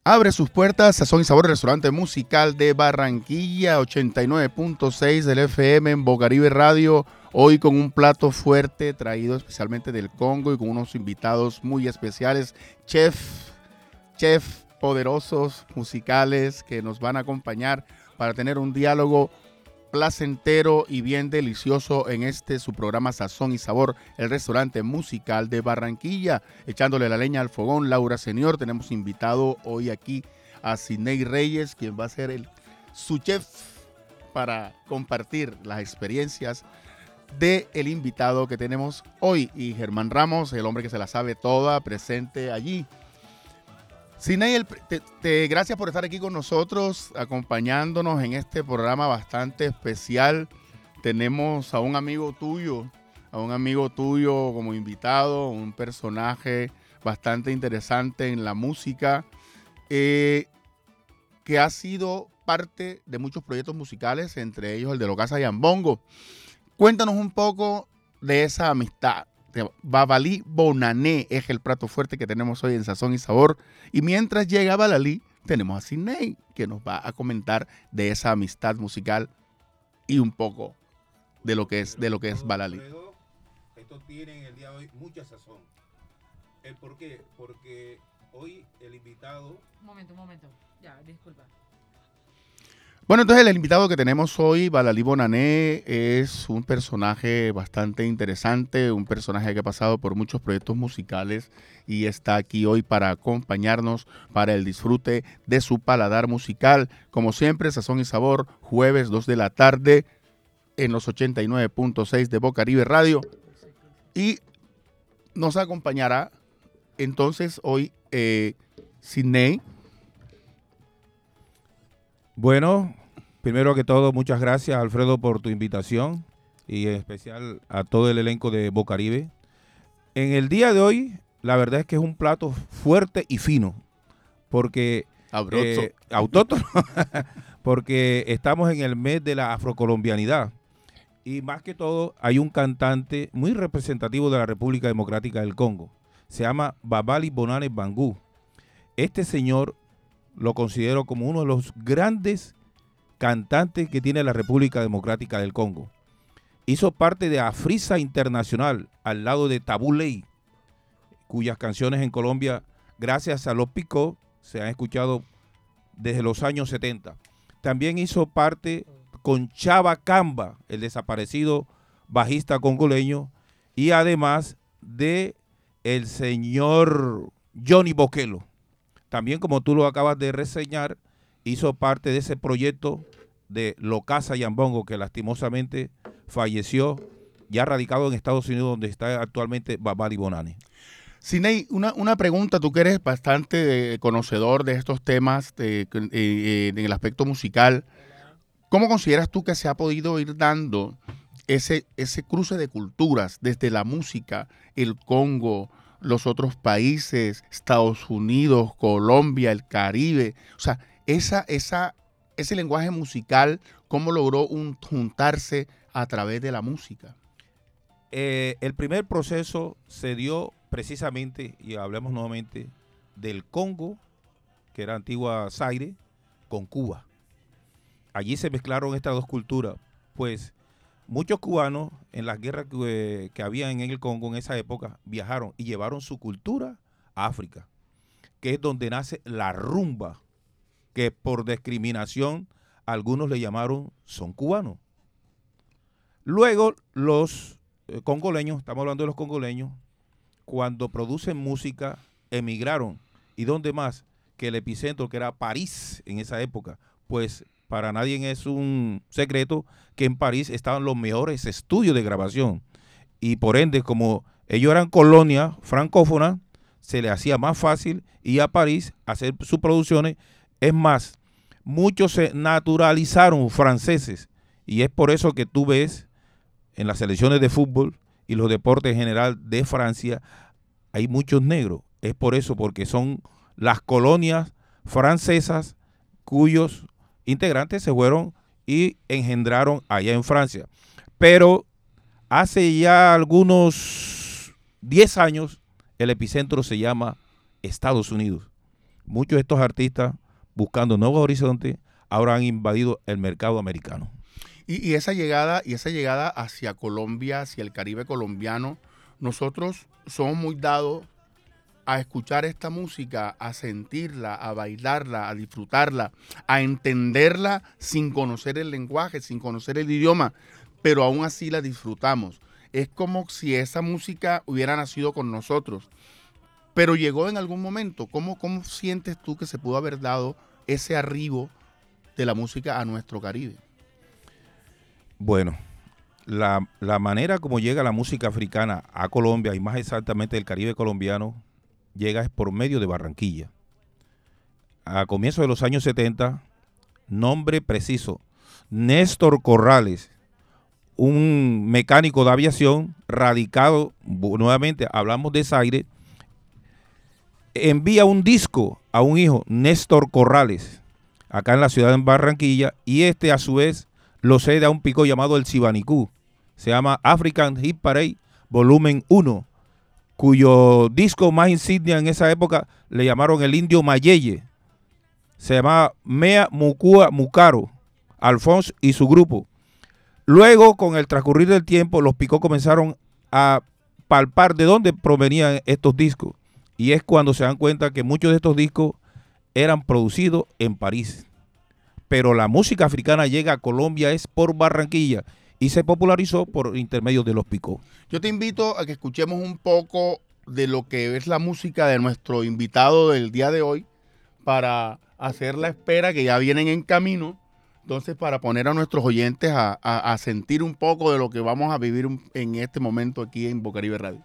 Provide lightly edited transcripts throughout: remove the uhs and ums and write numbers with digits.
Abre sus puertas Sazón y Sabor, restaurante musical de Barranquilla, 89.6 del FM en Bocaribe Radio. Hoy con un plato fuerte traído especialmente del Congo y con unos invitados muy especiales, chef poderosos musicales que nos van a acompañar para tener un diálogo placentero y bien delicioso en su programa Sazón y Sabor, el restaurante musical de Barranquilla. Echándole la leña al fogón, Laura Señor. Tenemos invitado hoy aquí a Sidney Reyes, quien va a ser su chef para compartir las experiencias del invitado que tenemos hoy. Y Germán Ramos, el hombre que se la sabe toda, presente allí. Sidney, gracias por estar aquí con nosotros, acompañándonos en este programa bastante especial. Tenemos a un amigo tuyo como invitado, un personaje bastante interesante en la música, que ha sido parte de muchos proyectos musicales, entre ellos el de Locasa Yambongo. Cuéntanos un poco de esa amistad. Babalí Bonané es el plato fuerte que tenemos hoy en Sazón y Sabor. Y mientras llega Babalí, tenemos a Sidney, que nos va a comentar de esa amistad musical y un poco de lo que es Balalí. Esto tiene en el día de hoy mucha sazón. ¿Por qué? Porque hoy el invitado... Un momento. Ya, disculpa. Bueno, entonces el invitado que tenemos hoy, Balalí Bonané, es un personaje bastante interesante, un personaje que ha pasado por muchos proyectos musicales y está aquí hoy para acompañarnos para el disfrute de su paladar musical. Como siempre, Sazón y Sabor, jueves 2 de la tarde en los 89.6 de Bocaribe Radio. Y nos acompañará entonces hoy Sidney. Bueno, primero que todo, muchas gracias, Alfredo, por tu invitación y en especial a todo el elenco de Bocaribe. En el día de hoy, la verdad es que es un plato fuerte y fino, porque autóctono, porque estamos en el mes de la afrocolombianidad y más que todo hay un cantante muy representativo de la República Democrática del Congo, se llama Babalí Bonané Bangou. Este señor lo considero como uno de los grandes cantantes que tiene la República Democrática del Congo. Hizo parte de Afrisa Internacional al lado de Tabú Ley, cuyas canciones en Colombia, gracias a los Picó, se han escuchado desde los años 70. También hizo parte con Chaba Kamba, el desaparecido bajista congoleño, y además de el señor Johnny Boquelo. También, como tú lo acabas de reseñar, hizo parte de ese proyecto de Locasa Yambongo, que lastimosamente falleció, ya radicado en Estados Unidos, donde está actualmente Babalí Bonané. Sidney, una pregunta, tú que eres bastante conocedor de estos temas en el aspecto musical, ¿cómo consideras tú que se ha podido ir dando ese cruce de culturas desde la música, el Congo, los otros países, Estados Unidos, Colombia, el Caribe? O sea, ese lenguaje musical, ¿cómo logró juntarse a través de la música? El primer proceso se dio precisamente, y hablemos nuevamente, del Congo, que era antigua Zaire, con Cuba. Allí se mezclaron estas dos culturas, pues muchos cubanos en las guerras que había en el Congo en esa época viajaron y llevaron su cultura a África, que es donde nace la rumba, que por discriminación algunos le llamaron son cubanos. Luego los congoleños, estamos hablando de los congoleños, cuando producen música emigraron. ¿Y dónde más? Que el epicentro, que era París en esa época, pues para nadie es un secreto que en París estaban los mejores estudios de grabación. Y por ende, como ellos eran colonia francófona, se les hacía más fácil ir a París a hacer sus producciones. Es más, muchos se naturalizaron franceses. Y es por eso que tú ves en las selecciones de fútbol y los deportes en general de Francia, hay muchos negros. Es por eso, porque son las colonias francesas cuyos integrantes se fueron y engendraron allá en Francia. Pero hace ya algunos 10 años el epicentro se llama Estados Unidos. muchos de estos artistas, buscando nuevos horizontes, ahora han invadido el mercado americano. Y esa llegada hacia Colombia, hacia el Caribe colombiano, nosotros somos muy dados a escuchar esta música, a sentirla, a bailarla, a disfrutarla, a entenderla sin conocer el lenguaje, sin conocer el idioma, pero aún así la disfrutamos. Es como si esa música hubiera nacido con nosotros, pero llegó en algún momento. ¿Cómo sientes tú que se pudo haber dado ese arribo de la música a nuestro Caribe? Bueno, la manera como llega la música africana a Colombia, y más exactamente el Caribe colombiano, llega es por medio de Barranquilla. A comienzos de los años 70, nombre preciso, Néstor Corrales, un mecánico de aviación radicado, nuevamente hablamos de Zaire, envía un disco a un hijo, Néstor Corrales, acá en la ciudad de Barranquilla, y este a su vez lo cede a un pico llamado el Sibanicú. Se llama African Hit Parade Volumen 1, cuyo disco más insignia en esa época le llamaron el Indio Mayeye. Se llamaba Mea Mukua Mukaro, Alphonse y su grupo. Luego, con el transcurrir del tiempo, los Picó comenzaron a palpar de dónde provenían estos discos. Y es cuando se dan cuenta que muchos de estos discos eran producidos en París. Pero la música africana llega a Colombia es por Barranquilla y se popularizó por intermedio de los Picó. Yo te invito a que escuchemos un poco de lo que es la música de nuestro invitado del día de hoy para hacer la espera, que ya vienen en camino. Entonces, para poner a nuestros oyentes a sentir un poco de lo que vamos a vivir en este momento aquí en Bocaribe Radio.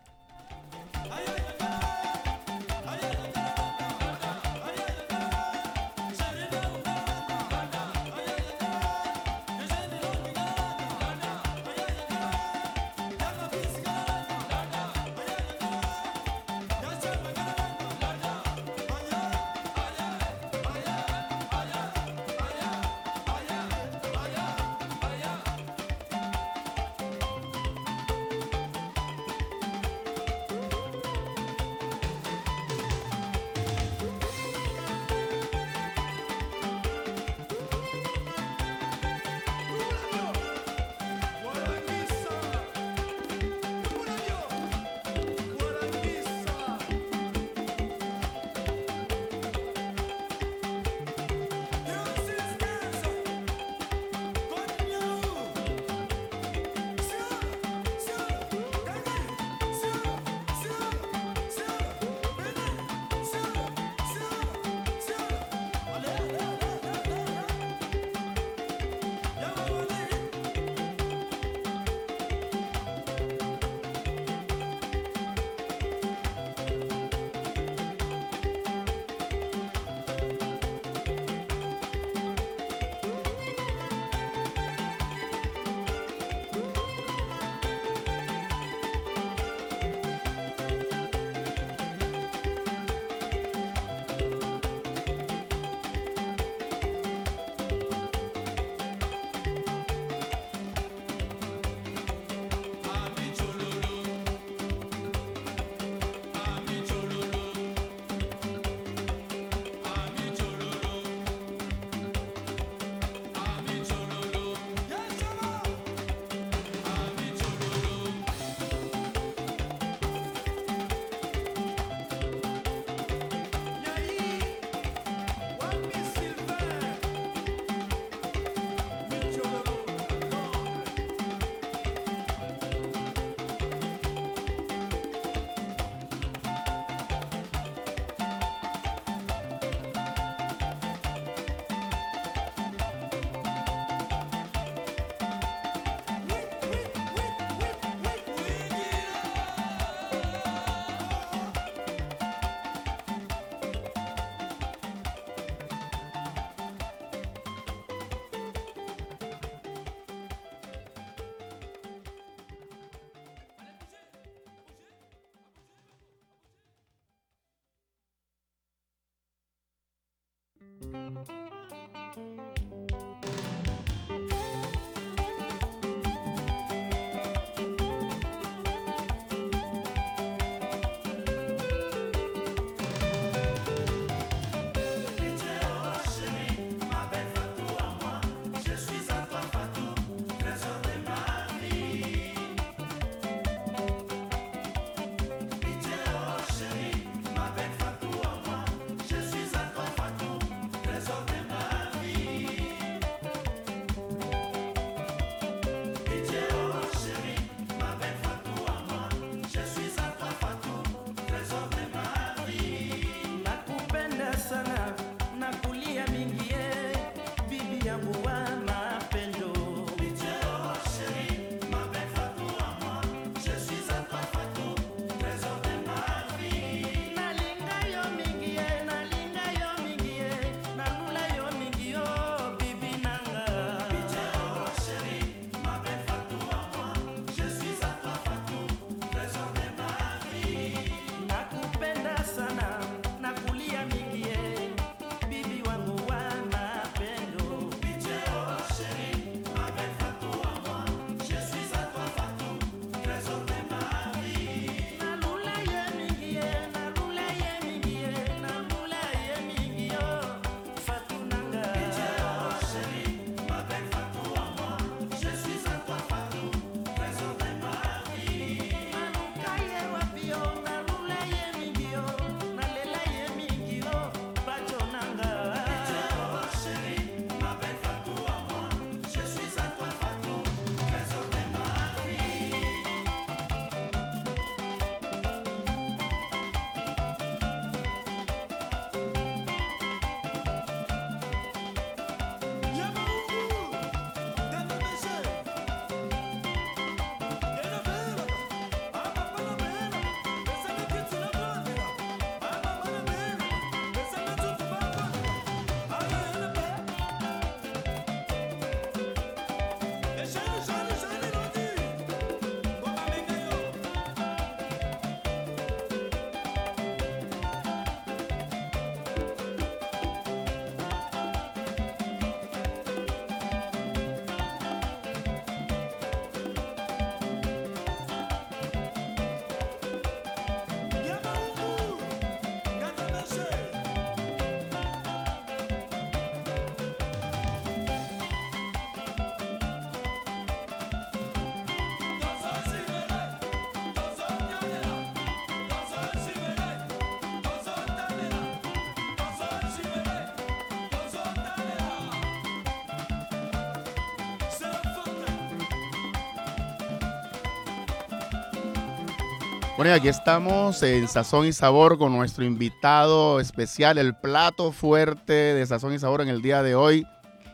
Bueno, y aquí estamos en Sazón y Sabor con nuestro invitado especial, el plato fuerte de Sazón y Sabor en el día de hoy,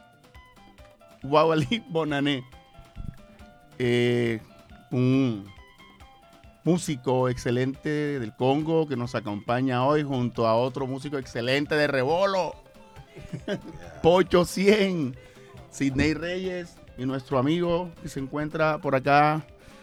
Wawali Bonané, un músico excelente del Congo que nos acompaña hoy junto a otro músico excelente de Rebolo, Pocho 100, Sidney Reyes y nuestro amigo que se encuentra por acá,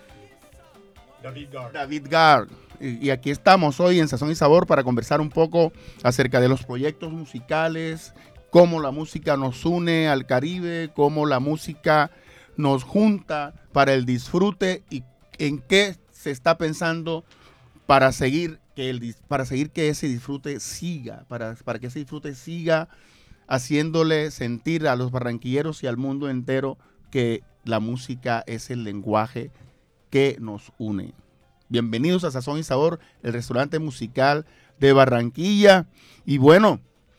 David Gar. Y aquí estamos hoy en Sazón y Sabor para conversar un poco acerca de los proyectos musicales, cómo la música nos une al Caribe, cómo la música nos junta para el disfrute y en qué se está pensando para seguir que ese disfrute siga, para que ese disfrute siga haciéndole sentir a los barranquilleros y al mundo entero que la música es el lenguaje que nos une. Bienvenidos a Sazón y Sabor, el restaurante musical de Barranquilla. Y bueno,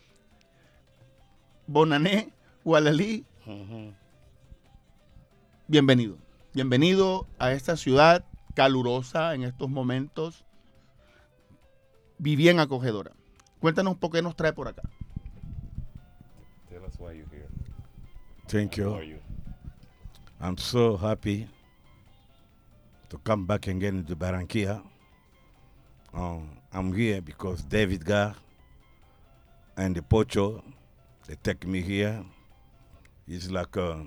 Bonané, Wawali, bienvenido. Bienvenido a esta ciudad calurosa en estos momentos y bien acogedora. Cuéntanos por qué nos trae por acá. Tell us why you're here. Thank How you. are you? I'm so happy to come back again to Barranquilla. I'm here because David Gar and the Pocho, they take me here. It's like a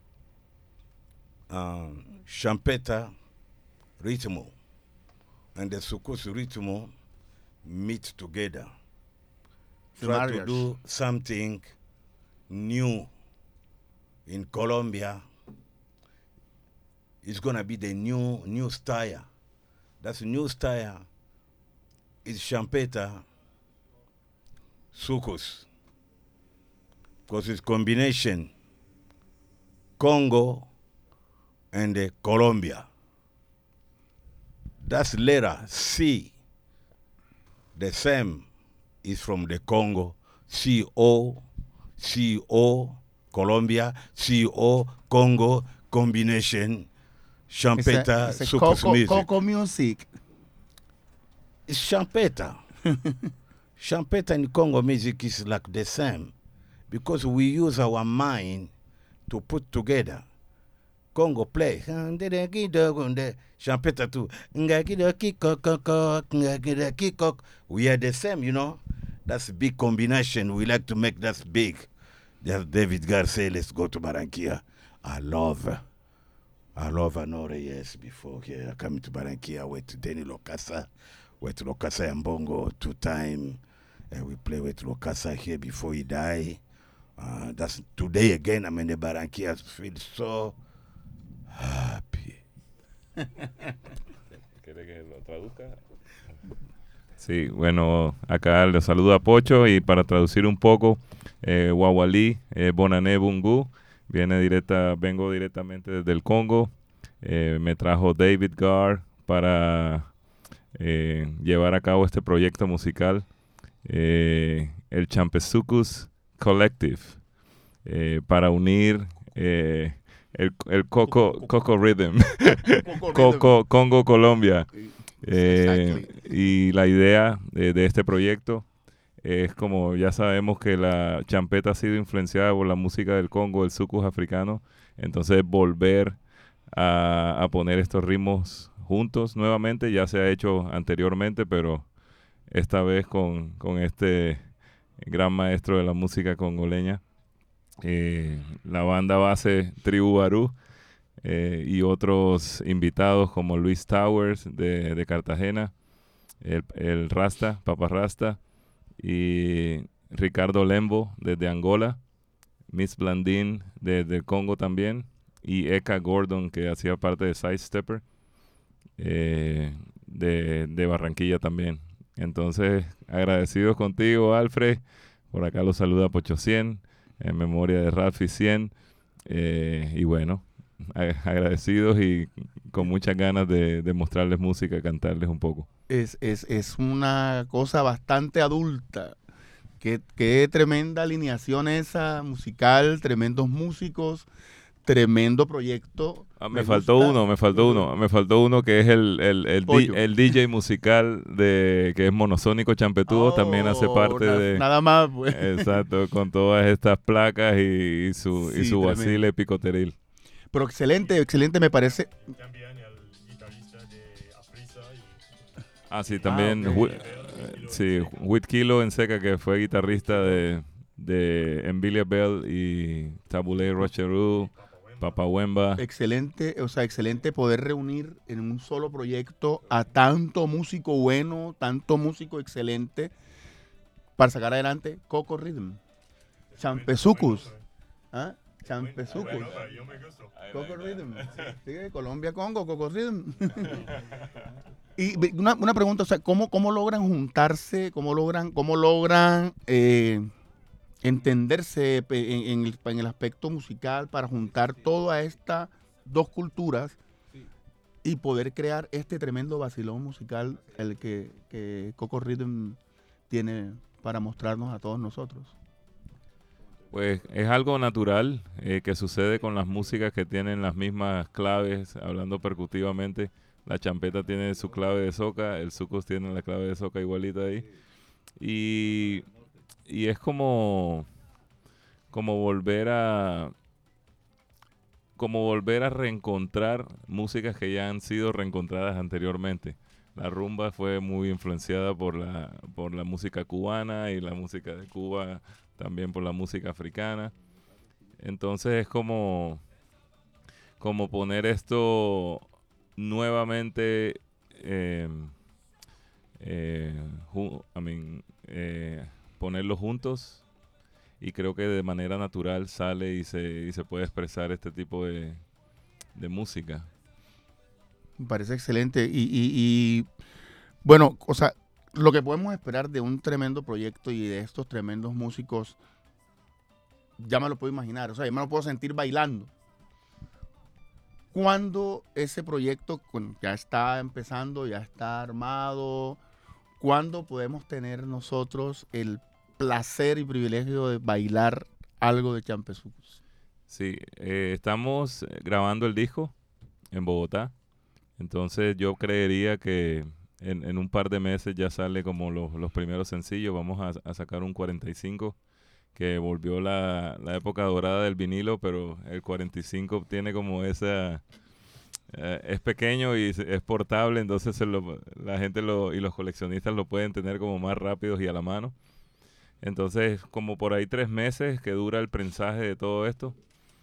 champeta ritmo and the Sukus ritmo meet together. Try to do something new in Colombia. It's gonna be the new style. That's new style. It's champeta, sucos, because it's combination Congo and Colombia. That's letter C. The same is from the Congo. CO, Colombia, CO, Congo, combination. Champeta, sucos music. Coco Music. It's champeta. Champeta and Congo music is like the same because we use our mind to put together. Congo play. Champeta too. We are the same, you know. That's a big combination. We like to make that big. Just David Gar say, let's go to Barranquilla. I love Anore, yes, before here. I come to Barranquilla, went to Denny Locasa, went to Locasa and Bongo 2 times. And we play with Locasa here before he died. That's today again, I'm in the Barranquilla. I feel so happy. ¿Quiere que lo traduzca? Sí, bueno, acá les saluda Pocho y para traducir un poco, Wawali Bonané Bungu, vengo directamente desde el Congo, me trajo David Gar para llevar a cabo este proyecto musical, el Champesucus Collective, para unir el Coco Rhythm, Congo, Colombia. Exactly. Y la idea de este proyecto es, como ya sabemos que la champeta ha sido influenciada por la música del Congo, el sucus africano, entonces volver a poner estos ritmos juntos nuevamente. Ya se ha hecho anteriormente, pero esta vez con este gran maestro de la música congoleña, la banda base Tribu Barú, y otros invitados como Luis Towers de Cartagena, el Rasta, Papa Rasta, y Ricardo Lembo desde Angola, Miss Blandín desde Congo también, y Eka Gordon, que hacía parte de Sidestepper, de Barranquilla también. Entonces, agradecidos contigo, Alfred. Por acá los saluda Pocho 100, en memoria de Ralphie 100, y bueno, agradecidos y con muchas ganas de mostrarles música, cantarles un poco. Es una cosa bastante adulta. Qué tremenda alineación esa musical, tremendos músicos, tremendo proyecto. Me faltó uno que es Pollo. el DJ musical que es Monosónico Champetudo, también hace parte de... Nada más, pues. Exacto, con todas estas placas y su Sí, tremendo. vacile picoteril. Pero excelente me parece. También el guitarrista de Aprisa y Ah, sí, también ok. Whit Kilo en Seca, que fue guitarrista de Envilia Bell y Tabulé Rocheru, Papa Wemba. Excelente, o sea, excelente poder reunir en un solo proyecto a tanto músico bueno, tanto músico excelente para sacar adelante Coco Rhythm, Champezucus, ¿ah? Champezucus, bueno, yo me gusto. Coco Rhythm, sí, Colombia, Congo, Coco Rhythm. Y una pregunta, o sea, ¿cómo logran juntarse, cómo logran entenderse en el aspecto musical para juntar todas estas dos culturas y poder crear este tremendo vacilón musical el que Coco Rhythm tiene para mostrarnos a todos nosotros? Pues es algo natural que sucede con las músicas que tienen las mismas claves, hablando percutivamente. La champeta tiene su clave de soca, el sucus tiene la clave de soca igualita ahí. Y es como volver a reencontrar músicas que ya han sido reencontradas anteriormente. La rumba fue muy influenciada por la música cubana y la música de Cuba también por la música africana. Entonces es como poner esto nuevamente ponerlo juntos, y creo que de manera natural sale y se puede expresar este tipo de música. Me parece excelente y bueno, o sea, lo que podemos esperar de un tremendo proyecto y de estos tremendos músicos, ya me lo puedo imaginar, o sea, ya me lo puedo sentir bailando. ¿Cuándo ese proyecto ya está empezando, ya está armado? ¿Cuándo podemos tener nosotros el placer y privilegio de bailar algo de Champezucus? Sí, estamos grabando el disco en Bogotá, entonces yo creería que en un par de meses ya sale como los primeros sencillos. Vamos a sacar un 45 que volvió la época dorada del vinilo, pero el 45 tiene como esa... es pequeño y es portable, entonces la gente y los coleccionistas lo pueden tener como más rápidos y a la mano. Entonces, como por ahí 3 meses que dura el prensaje de todo esto.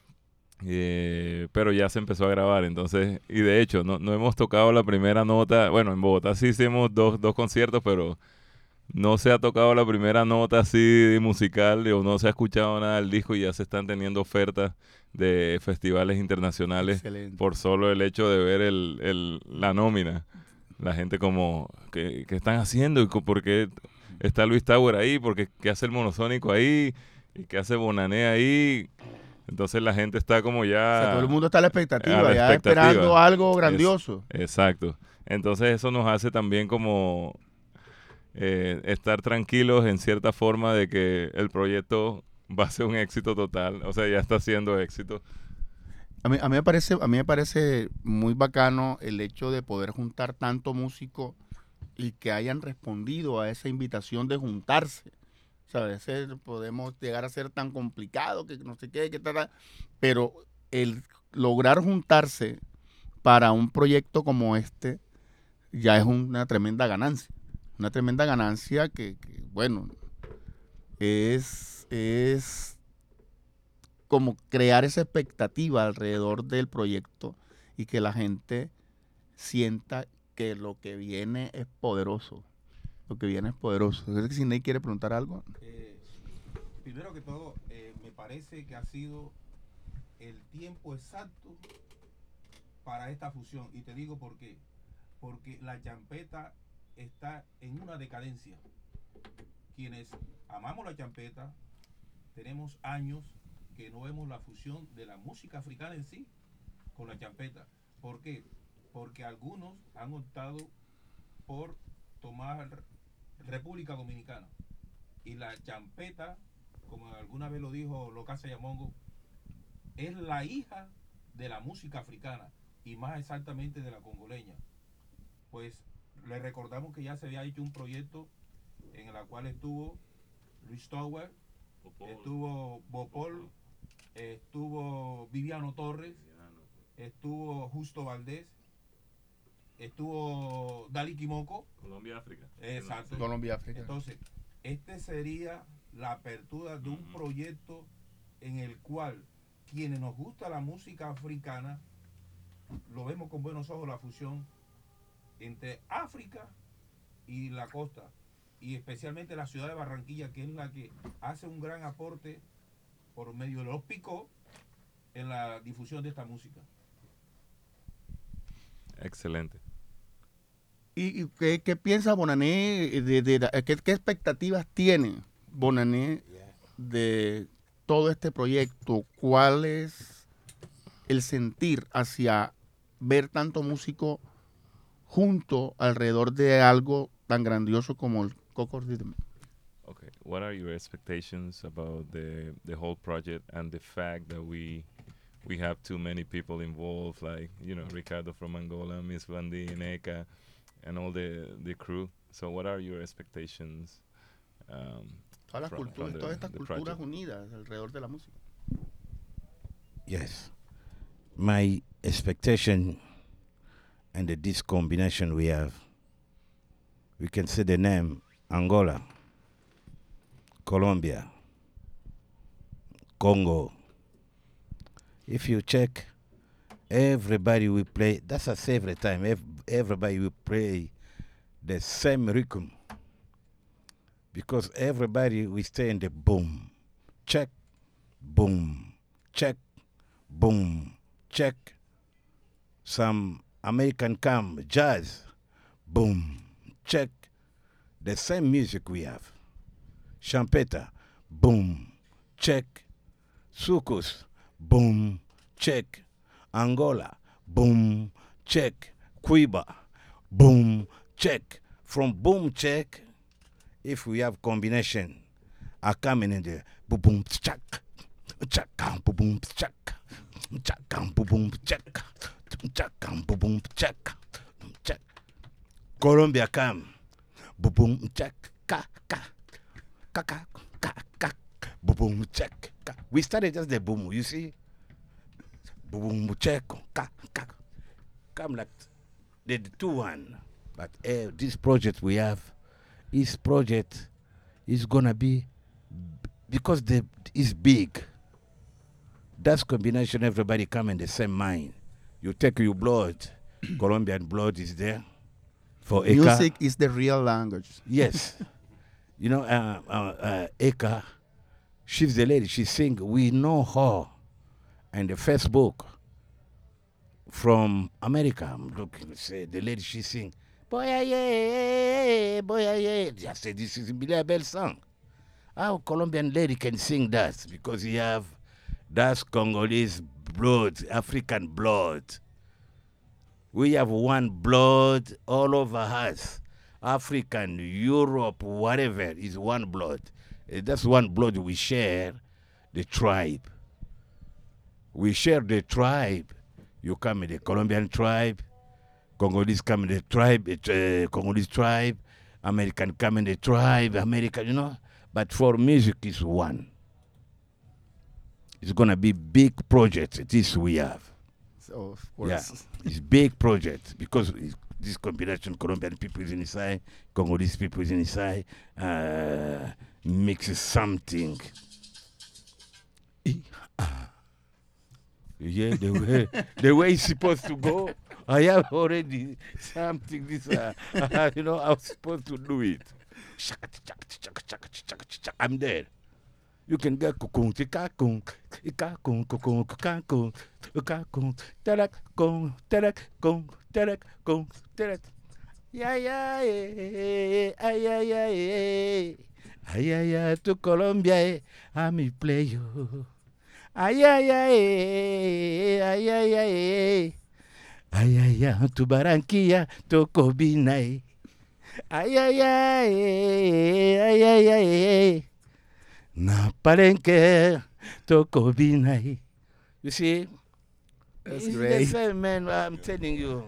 Pero ya se empezó a grabar, entonces, y de hecho no hemos tocado la primera nota. Bueno, en Bogotá sí hicimos dos conciertos, pero no se ha tocado la primera nota así musical, o no se ha escuchado nada del disco, y ya se están teniendo ofertas de festivales internacionales. Excelente. Por solo el hecho de ver la nómina. La gente como, ¿qué están haciendo? ¿Y por qué está Luis Tower ahí? ¿Por qué hace el Monosónico ahí? ¿Y qué hace Bonané ahí? Entonces la gente está como ya... O sea, todo el mundo está a la expectativa, a la ya expectativa. esperando algo grandioso. Exacto. Entonces eso nos hace también como estar tranquilos en cierta forma de que el proyecto va a ser un éxito total. O sea, ya está siendo éxito. A mí me parece muy bacano el hecho de poder juntar tanto músico y que hayan respondido a esa invitación de juntarse. O sea, a veces podemos llegar a ser tan complicado que no sé qué, tal, pero el lograr juntarse para un proyecto como este ya es una tremenda ganancia. Una tremenda ganancia que bueno, es como crear esa expectativa alrededor del proyecto y que la gente sienta que lo que viene es poderoso. Lo que viene es poderoso. Yo creo que si Ney quiere preguntar algo. Primero que todo, me parece que ha sido el tiempo exacto para esta fusión. Y te digo por qué. Porque la champeta está en una decadencia. Quienes amamos la champeta, tenemos años que no vemos la fusión de la música africana en sí con la champeta. ¿Por qué? Porque algunos han optado por tomar República Dominicana. Y la champeta, como alguna vez lo dijo Locasa Yamongo, es la hija de la música africana y más exactamente de la congoleña. Pues le recordamos que ya se había hecho un proyecto en el cual estuvo Luis Tower, estuvo Bopol, estuvo Viviano Torres, estuvo Justo Valdés, estuvo Dali Kimoko. Colombia, África. Exacto. Colombia, África. Entonces, este sería la apertura de un proyecto en el cual quienes nos gusta la música africana lo vemos con buenos ojos, la fusión entre África y la costa, y especialmente la ciudad de Barranquilla, que es la que hace un gran aporte por medio de los picos en la difusión de esta música. Excelente. ¿Y qué piensa Bonané? ¿Qué expectativas tiene Bonané de todo este proyecto? ¿Cuál es el sentir hacia ver tanto músico junto alrededor de algo tan grandioso como el Coco Rhythm? Okay. What are your expectations about the whole project and the fact that we have too many people involved, like, you know, Ricardo from Angola, Miss Blandi, Eka, and all the crew? So what are your expectations? Todas las from culturas, the- todas estas the culturas project? unidas alrededor de la música. Yes. My expectation and this combination we have, we can say the name Angola, Colombia, Congo. If you check, everybody will play, that's us every time, everybody will play the same rhythm. Because everybody will stay in the boom, check, boom, check, boom, check. Some American come, jazz, boom, check. The same music we have. Champeta, boom, check. Sucus, boom, check. Angola, boom, check. Cuba, boom, check. From boom, check, if we have combination, I come in there, boom, boom, check. Check, boom, boom, check. Check, boom, boom, check. Check, boom, boom, check. Check. Colombia come, boom, boom, check. Ka, ka, ka, ka, ka, ka. Boom, boom, check. Ka. We started just the boom, you see? Boom, boom, check. Ka, ka. Come like the 2-1. But this project we have, this project is gonna be, because it's big. That's combination, everybody come in the same mind. You take your blood, Colombian blood is there. For Eka, Music is the real language. yes. You know, Eka, she's the lady, she sing, we know her. And the Facebook from America, I'm looking, say, the lady, she sing, boy, yeah, boy, yeah. I said, this is a Billy Bell song. How Colombian lady can sing that? Because you have, that's Congolese blood, African blood. We have one blood all over us. African, Europe, whatever, is one blood. That's one blood we share, the tribe. We share the tribe. You come in the Colombian tribe, Congolese come in the tribe, Congolese tribe, American come in the tribe, American, you know. But for music is one. It's gonna be big project. This we have. So, of course. Yeah, it's big project because this combination, Colombian people is inside, Congolese people is inside, mixes something. Yeah, the way it's supposed to go. I have already something. This, you know, I was supposed to do it. I'm there. You can get kung tika kung ika kung kung kung kung telek kung telek kung telek. Yeah yeah yeah yeah yeah yeah yeah yeah to Colombia I'm play you. Ay ay ay ay ay ay ay ay ay to Barranquilla to Cobina. Ay ay ay ay ay ay. Na Palenque to Cobina. You see? That's It's great. the same, man. I'm telling you.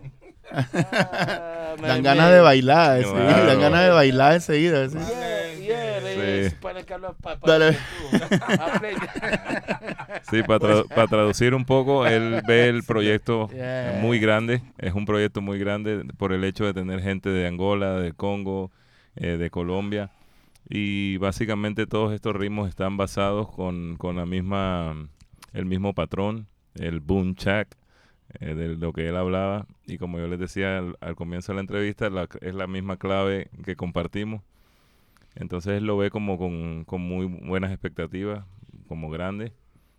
Dan ganas de bailar, sí, Claro. dan ganas de bailar enseguida. Sí. Sí. Para que los papas. Dale. Sí, para traducir un poco, él ve el proyecto Yeah. muy grande, es un proyecto muy grande por el hecho de tener gente de Angola, de Congo, de Colombia, y básicamente todos estos ritmos están basados con el mismo patrón, el boom chak, de lo que él hablaba, y como yo les decía al comienzo de la entrevista, es la misma clave que compartimos. Entonces él lo ve como con muy buenas expectativas, como grande.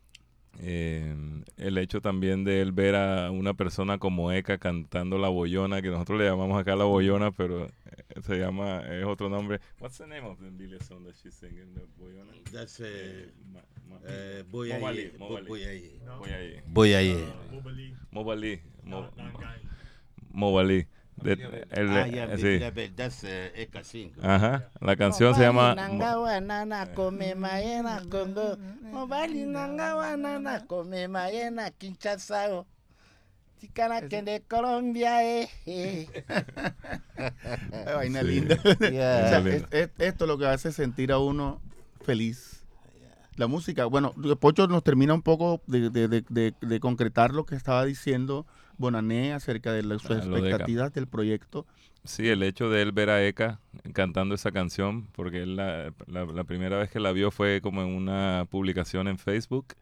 El hecho también de él ver a una persona como Eka cantando la boyona, que nosotros le llamamos acá la boyona, pero es otro nombre. What's the name of the Billy song that she's singing, the boyona? That's Mobali. Boyaye. Mobali, Mobali. Nangai. Mobali. Sí. That's Eka Singh. Ajá. La canción se llama Nangawa nana come mayena Congo. Mobali nangawa nana come mayena Kinshasa. Ticana que de Colombia, Qué vaina linda. Yeah. O sea, Lindo. esto es lo que hace sentir a uno feliz. La música, bueno, Pocho nos termina un poco de concretar lo que estaba diciendo Bonané acerca de sus Lo de Eka. expectativas del proyecto. Sí, el hecho de él ver a Eka cantando esa canción, porque él la primera vez que la vio fue como en una publicación en Facebook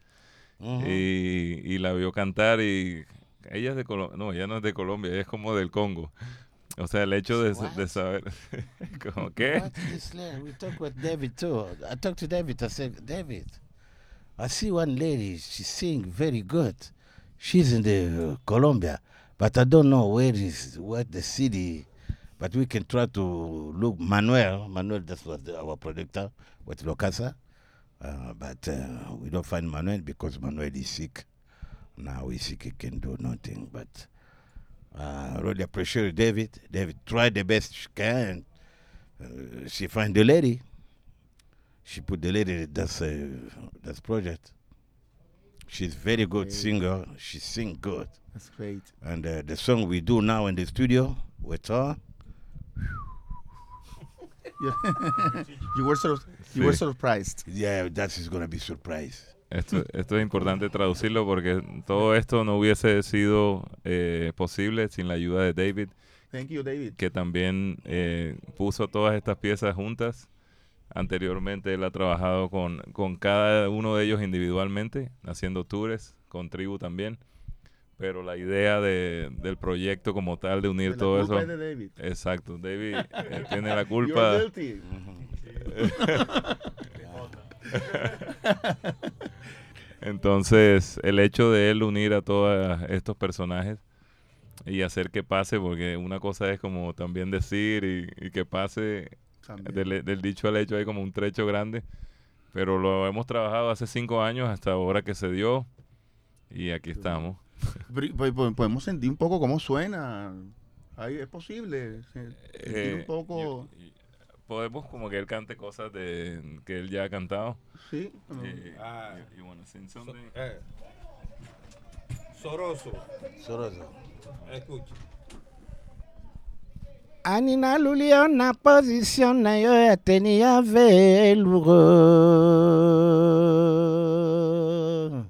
y la vio cantar y ella es de Colombia, no, ella no es de Colombia, ella es como del Congo. O sea, el hecho de saber, como, ¿qué? What is that? We talked with David too. I talked to David. I said, David, I see one lady. She sing very good. She's in the Colombia, but I don't know what the city. But we can try to look. Manuel, that's what our producer with Locasa. But we don't find Manuel because Manuel is sick. Now he's sick. He can do nothing. But I really appreciate David. David tried the best she can. She find the lady. She put the lady that's project. She's very good singer. She sing good. That's great. And the song we do now in the studio with her. You were surprised. Yeah, that is gonna be surprise. Esto es importante traducirlo porque todo esto no hubiese sido posible sin la ayuda de David, Thank you, David. que también puso todas estas piezas juntas. Anteriormente él ha trabajado con cada uno de ellos individualmente, haciendo tours, con Tribu también. Pero la idea del proyecto como tal, de unir La todo culpa eso. es de David. Exacto, David tiene la culpa. You're guilty. Entonces, el hecho de él unir a todos estos personajes y hacer que pase, porque una cosa es como también decir y que pase, También. del dicho al hecho hay como un trecho grande, pero lo hemos trabajado hace 5 años hasta ahora que se dio y aquí estamos. Podemos sentir un poco cómo suena. Ahí es posible sentir un poco. Podemos como que él cante cosas que él ya ha cantado. Sí. You wanna sing something? Soroso, Soroso. escucha. Anina Lulio na position na yo ya tenía velugo.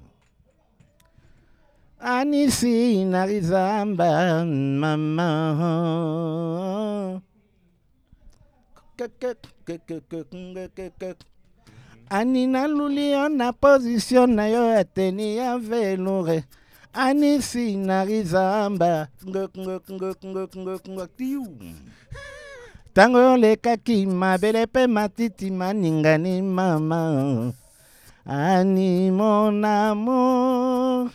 Anisi na rizamba mama. Anina Lulio na position na yo ya tenía velugo. Anisi na rizamba tango lekaki mabele pe matiti maningani mama ani mon amour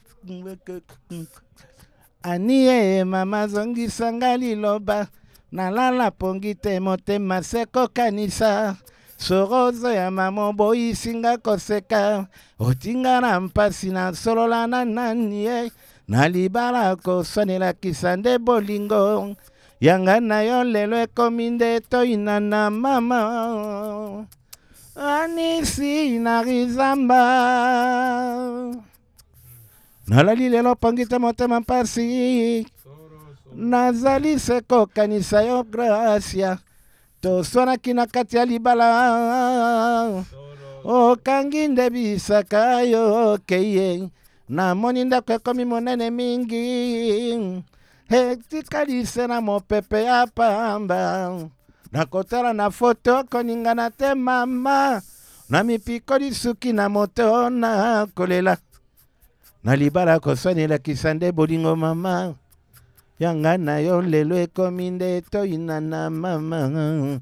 ani mama zongisa liloba nalala pongi te motema seko kanisa sorozo ya mama boyisinga koseka otinga na mpasi na solola na nani ye nalibala koswanelakisa nde bolingo yanga na yo lelo ekomi nde toyina na mama anisi na rizamba nalali lelo pongita motema mpasi nazali se kokanisa yo gracia toswanaki na kati ya libala okangi nde bisaka yo keye namoni ndako ekomi monene mingi etikalise na mopepe ya pamba nakotala na foto koningana te mama na mipikoli suki na moto na kolela na libala koswanelakisa nde bolingo mama yanga na yo lelo ekomi nde toyina na mama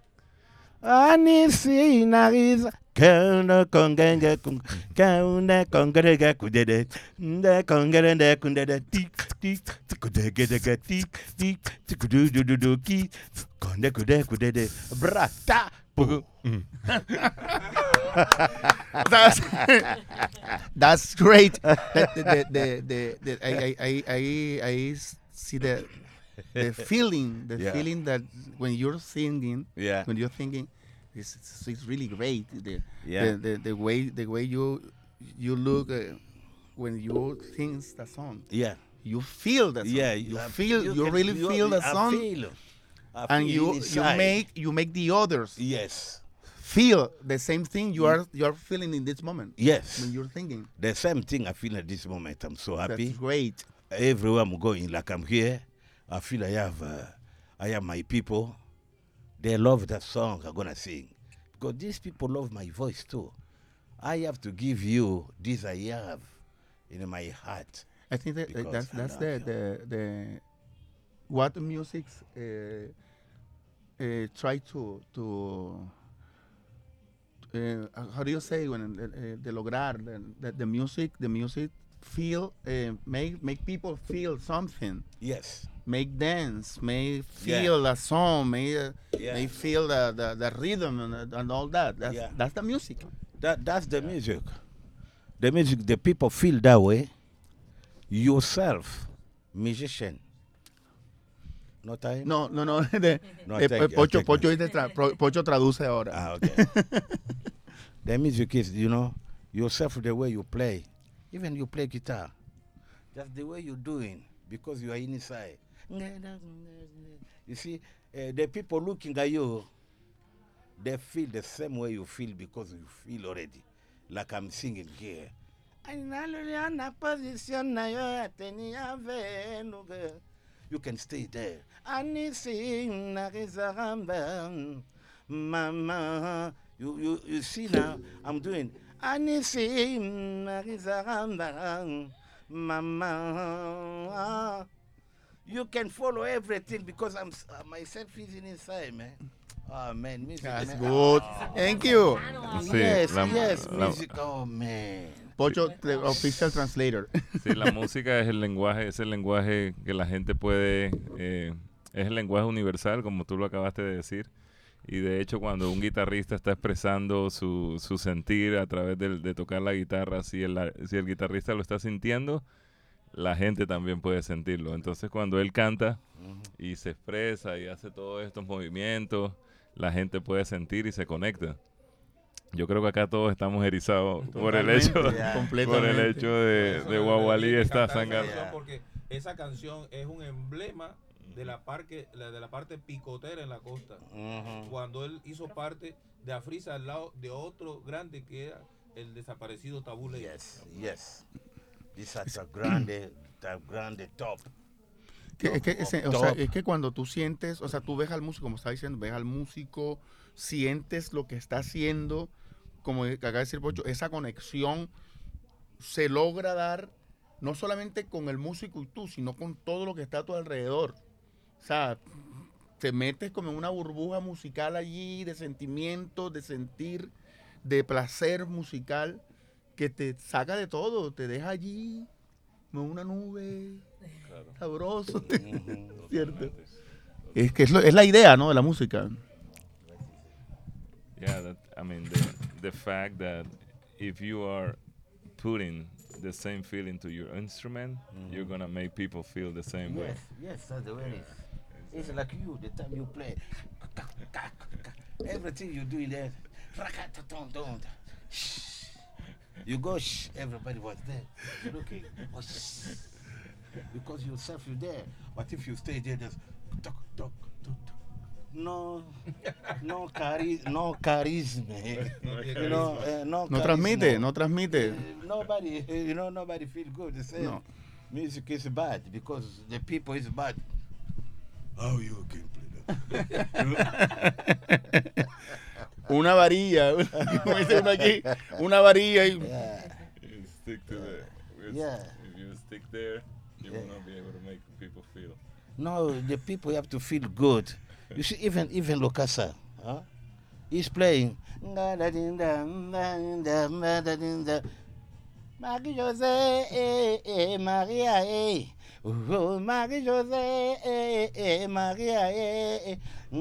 anisi nariza kauna kongenge kauna kongere kudede nde kongere nde kundede tik tik kudege tik tik kudududu ki konde kudede brata That's great. I see the feeling, Yeah. feeling that when you're singing, Yeah. when you're thinking, it's really great. Yeah. The way you look when you sing the song, Yeah. you feel the song. Yeah, you have- feel, you can- really feel the I song, I and feel you inside. make the others Yes. feel the same thing you are feeling in this moment Yes. when you're thinking. The same thing I feel at this moment. I'm so happy. That's great. Everywhere I'm going, like I'm here, I feel I have my people. They love that song I'm gonna sing because these people love my voice too. I have to give you this I have in my heart. I think that Because that's I love the what music try to how do you say when de lograr the music feel make people feel something, Yes. make dance, make Yeah. feel a song, make Yeah. feel the rhythm and all that. Yeah. That's the music. That's the music. The music, the people feel that way. Yourself, musician. No time? No. No, thank you, Pocho, thank you. Pocho traduce ahora. Ah, okay. The music is, yourself, the way you play. Even you play guitar. That's the way you're doing because you are inside. You see, the people looking at you, they feel the same way you feel because you feel already. Like I'm singing here. You can stay there. Mama, you see now, I'm doing. Mama, you can follow everything because I'm myself is inside, man. Oh man, music. That's man. good. Thank you. Sí, Yes, la- yes, la- music. Oh man. Pocho, the official translator. Sí, la música es el lenguaje que la gente puede, es el lenguaje universal, como tú lo acabaste de decir. Y de hecho, cuando un guitarrista está expresando su sentir a través de tocar la guitarra, si el guitarrista lo está sintiendo, la gente también puede sentirlo. Entonces, cuando él canta y se expresa y hace todos estos movimientos, la gente puede sentir y se conecta. Yo creo que acá todos estamos erizados por el hecho, por el hecho de Wawali está sangando. Porque esa canción es un emblema de la parte picotera en la costa. Cuando él hizo parte de Afrisa al lado de otro grande que era el desaparecido Tabu Ley. Yes. This is a grande top. Es que cuando tú sientes, o sea, tú ves al músico, como estaba diciendo, ves al músico, sientes lo que está haciendo, como acaba de decir Pocho, esa conexión se logra dar no solamente con el músico y tú, sino con todo lo que está a tu alrededor. O sea, te metes como en una burbuja musical allí, de sentimientos, de sentir, de placer musical, que te saca de todo, te deja allí como una nube, sabroso, ¿cierto? Es que es la idea, ¿no?, de la música. Yeah, the fact that if you are putting the same feeling to your instrument, you're gonna make people feel the same way. Yes, that's the way it is. It's like you, the time you play. Everything you do in there. You go, shh, everybody was there. Looking, oh, shh. Because yourself, you're there. But if you stay there, just talk, talk, talk, talk. No charisma. You know, no No charisma. transmite. Nobody, nobody feel good. They say No. music is bad because the people is bad. How you can play that? Una varilla, como dice uno aquí, una varilla y Yeah. You stick to the. Yeah. If you stick there, you will Yeah. not be able to make people feel. No, the people have to feel good. You see, even Lukasa, huh? He's playing. Marie Jose, Maria, oh, Marie Jose, Maria,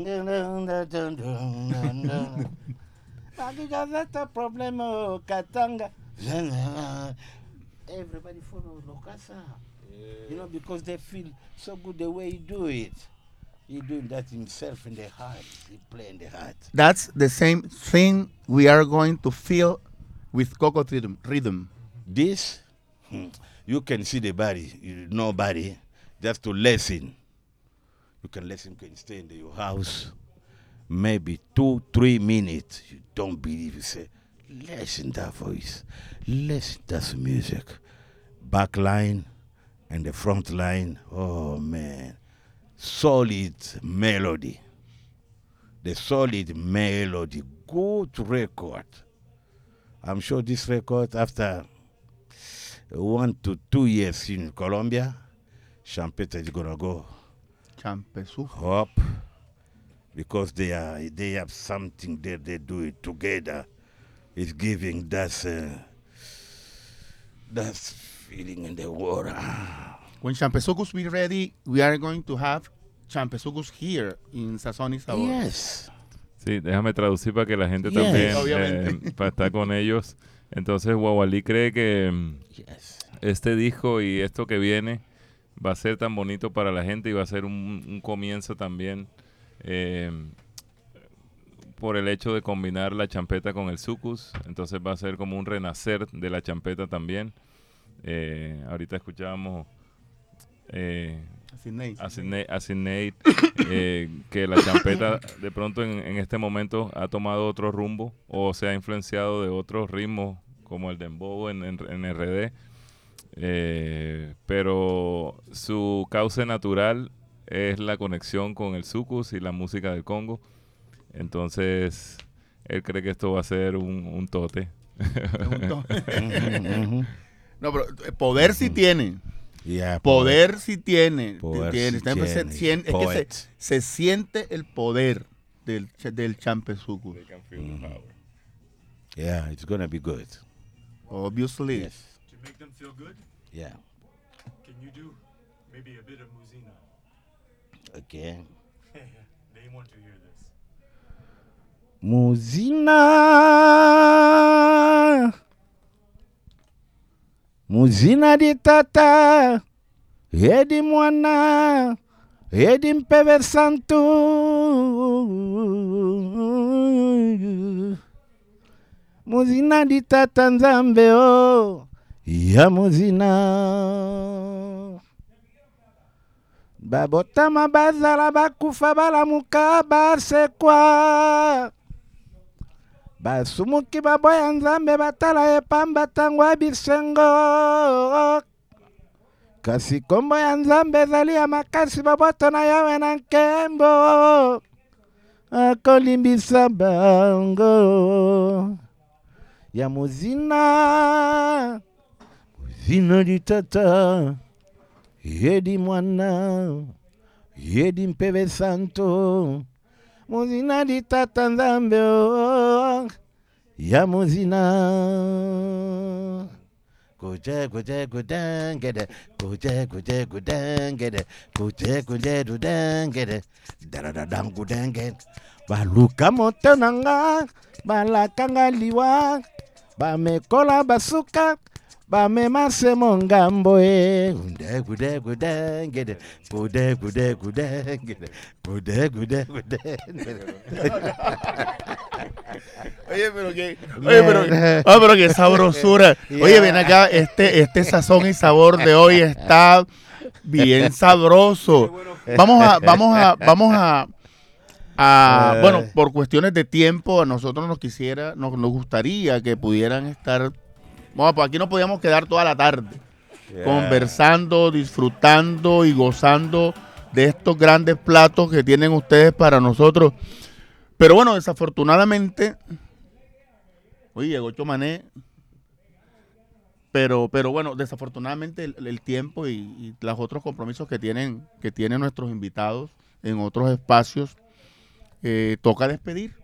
Marie Jose, the problem, Katanga. Everybody follow Lukasa. You know, because they feel so good the way he do it. He doing that himself in the heart. He play in the heart. that's the same thing we are going to feel with Coco Rhythm. This, you can see the body, nobody, just to listen. You can listen, you can stay in your house, maybe 2-3 minutes. You don't believe, you say, listen that voice, listen that music. Back line and the front line, oh man, solid melody. The solid melody, good record. I'm sure this record, after 1 to 2 years in Colombia, Champeta is gonna go Champesu. up because they have something there. They do it together. It's giving that feeling in the water. When Champesucus be ready, we are going to have Champesucus here in Sazón y Sabor. Yes. Sí, déjame traducir para que la gente Yes. también, Obviamente. para estar con ellos. Entonces, Guagualí cree que Yes. este disco y esto que viene va a ser tan bonito para la gente y va a ser un comienzo también por el hecho de combinar la champeta con el sucus. Entonces va a ser como un renacer de la champeta también. Ahorita escuchábamos a Sidney, que la champeta de pronto en este momento ha tomado otro rumbo o se ha influenciado de otros ritmos como el dembow en RD, pero su cauce natural es la conexión con el sucus y la música del Congo. Entonces él cree que esto va a ser un tote. No, pero poder sí tiene. Yeah, Poder sí tiene. Poder tiene. sí Siempre tiene. es que Poet. se siente el poder del Champesucus. They can feel the power. Yeah, it's gonna be good. Obviously. Yes. To make them feel good, Yeah. can you do maybe a bit of Muzina? Okay. They want to hear this. Muzina di tata, edi mwana, edi mpeve santu. Muzina di tata nzambe o, ya muzina. Babotama bazala bakufa balamuka basekwa. Basumuki baboya nzambe batala epamba tangwa bisengo. Kasi kombo ya nzambe ezali ya makasi baboto na yawe na nkembo. Akolimbisa bango. Ya muzina. Muzina di tata. Yedi mwana. Yedi mpeve santo. Muzina di tata nzambe o, ya muzina. Kuje kudengede, kuje kudengede, kuje kudengede, daradadam kudengede. Baluka moto nanga, balakanga liwa, bamekola basuka, bamema se mongambo e. Kude kudengede, kude kudengede, kude kudengede. pero qué sabrosura. Oye, ven acá, este sazón y sabor de hoy está bien sabroso. Bueno, por cuestiones de tiempo, a nosotros nos gustaría que pudieran estar. Bueno, pues aquí no podíamos quedar toda la tarde conversando, disfrutando y gozando de estos grandes platos que tienen ustedes para nosotros. Pero bueno, desafortunadamente, oye, llegó Chomané, pero bueno, desafortunadamente el tiempo y los otros compromisos que tienen nuestros invitados en otros espacios, toca despedir,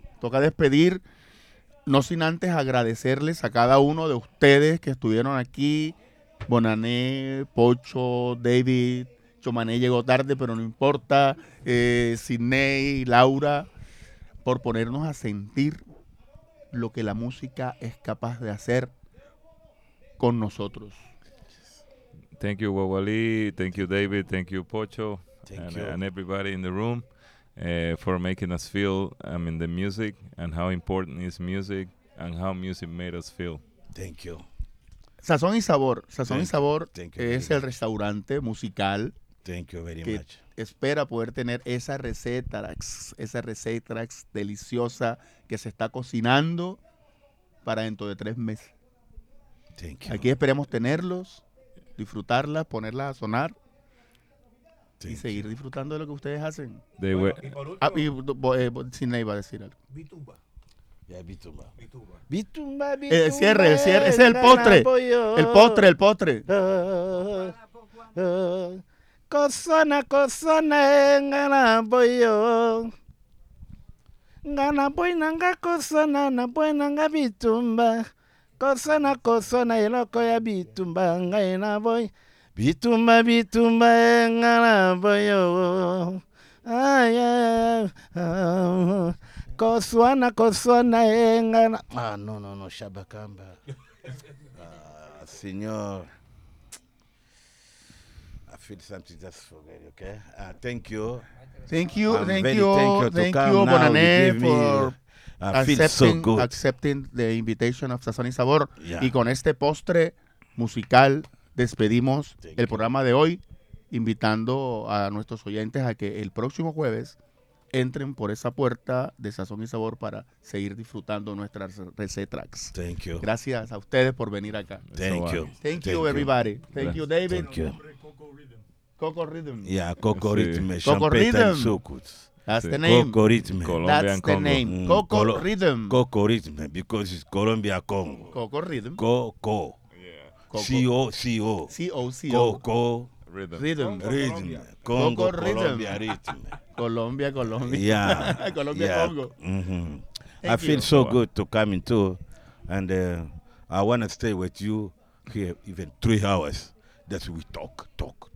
no sin antes agradecerles a cada uno de ustedes que estuvieron aquí, Bonané, Pocho, David, Chomané llegó tarde, pero no importa, Sidney, Laura, por ponernos a sentir lo que la música es capaz de hacer con nosotros. Thank you, Wawali. Thank you, David. Thank you, Pocho. Thank you. And everybody in the room for making us feel, the music and how important is music and how music made us feel. Thank you. Sazón y Sabor. Sazón y Sabor Thank you es very el restaurante musical Thank you very que much. espera poder tener esa receta deliciosa que se está cocinando para dentro de 3 meses. Thank you. Aquí esperemos tenerlos, disfrutarlas, ponerlas a sonar y Thank seguir disfrutando de lo que ustedes hacen. They were, Sidney va a decir algo. Yeah, Bitumba. Cierre, ese es el postre. El postre. Kosana ngana boyo. Ngana boy nanga kosana na boy nanga bitumba. Kosana iloko ya bitumba ngaina boy. Bitumba ngana boyo. Ay. Koswana engana. No, Shabakamba. Señor. I feel something just forget, okay? Thank you. Thank you, I'm very thankful to come now. Bonané, You give me, for I feel so good. accepting the invitation of Sazón y Sabor. Yeah. Y con este postre musical despedimos Thank el you. programa de hoy, invitando a nuestros oyentes a que el próximo jueves entren por esa puerta de Sazón y Sabor para seguir disfrutando nuestras recetas. Thank you. Gracias a ustedes por venir acá. Thank you. Thank you, everybody. Thank you, David. Thank you. Coco Rhythm. Coco Rhythm. Yeah, Coco Sí. Rhythm, Coco Champeta Rhythm. and Sukuts. That's Sí. the name. Coco Rhythm. Colombian That's the Congo. name. Coco Colo- Rhythm. Coco Rhythm, because it's Colombia Congo. Coco Rhythm. Coco. Coco. C-O. C-O-C-O. Coco Rhythm. Rhythm. Rhythm. Congo, Coco Rhythm. Colombia Rhythm. Colombia. Yeah. Colombia, yeah. Congo. Mhm. I Thank feel you. so good to come in too. And I want to stay with you here even 3 hours. That's we talk.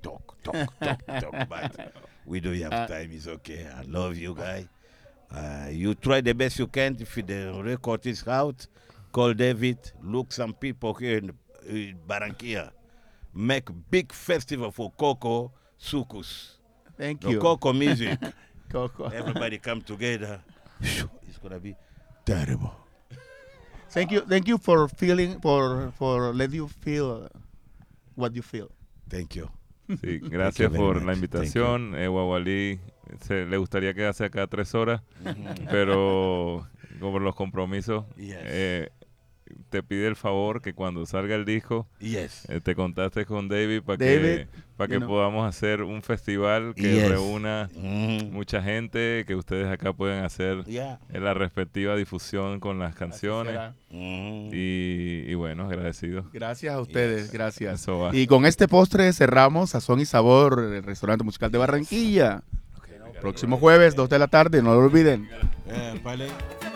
But we don't have time. It's okay. I love you, guys. You try the best you can. If the record is out, call David. Look some people here in Barranquilla. Make big festival for Coco Sukus. Thank The you. Coco music. Coco. Everybody come together. It's gonna be terrible. Thank you for let you feel what you feel. Thank you. Sí, gracias very por much. la invitación. Wawali le gustaría quedarse acá 3 horas, pero como los compromisos, Yes. te pide el favor que cuando salga el disco Yes. te contactes con David para David, que podamos hacer un festival que Yes. reúna Mhm. mucha gente, que ustedes acá puedan hacer Yeah. la respectiva difusión con las Así canciones será. Mhm. y bueno, agradecido. Gracias a ustedes, Yes. gracias. Eso va. Y con este postre cerramos Sazón y Sabor, el restaurante musical de Barranquilla. Próximo jueves, 2 de la tarde, no lo olviden. Pale.